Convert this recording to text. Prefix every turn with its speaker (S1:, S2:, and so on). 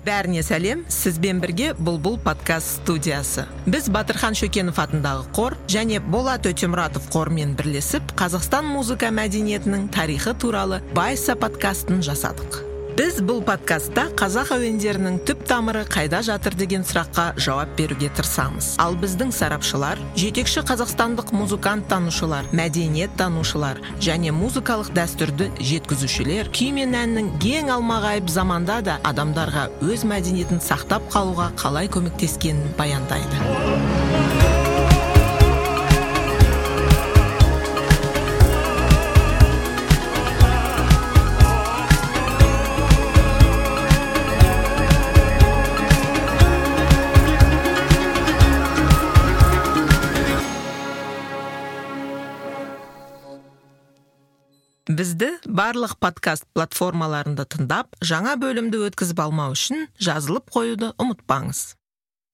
S1: Бәріне сәлем, сізбен бірге Бұлбұл подкаст студиясы. Біз Батырхан Шөкенов атындағы қор және Болат Өтемұратов қормен бірлесіп, Қазақстан музыка мәдениетінің тарихы туралы Байса подкастын жасадық. Біз бұл подкастта қазақ әуендерінің түп тамыры қайда жатыр деген сұраққа жауап беруге тырысамыз. Ал біздің сарапшылар, жетекші қазақстандық музыкант танушылар, мәдениет танушылар және музыкалық дәстүрді жеткізушілер күй мен әннің кең алмағайып заманда да адамдарға өз мәдениетін сақтап қалуға қалай көмектескенін баяндайды. Бізді барлық подкаст платформаларында тыңдап, жаңа бөлімді өткізіп алмау үшін жазылып қоюды ұмытпаңыз.